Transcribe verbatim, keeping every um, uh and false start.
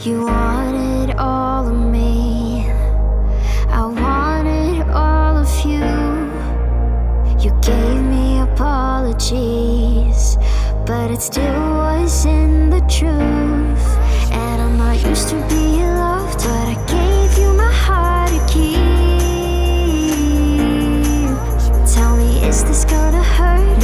You wanted all of me, I wanted all of you. You gave me apologies, but it still wasn't the truth. And I'm not used to being loved, but I gave you my heart to keep. Tell me, is this gonna hurt?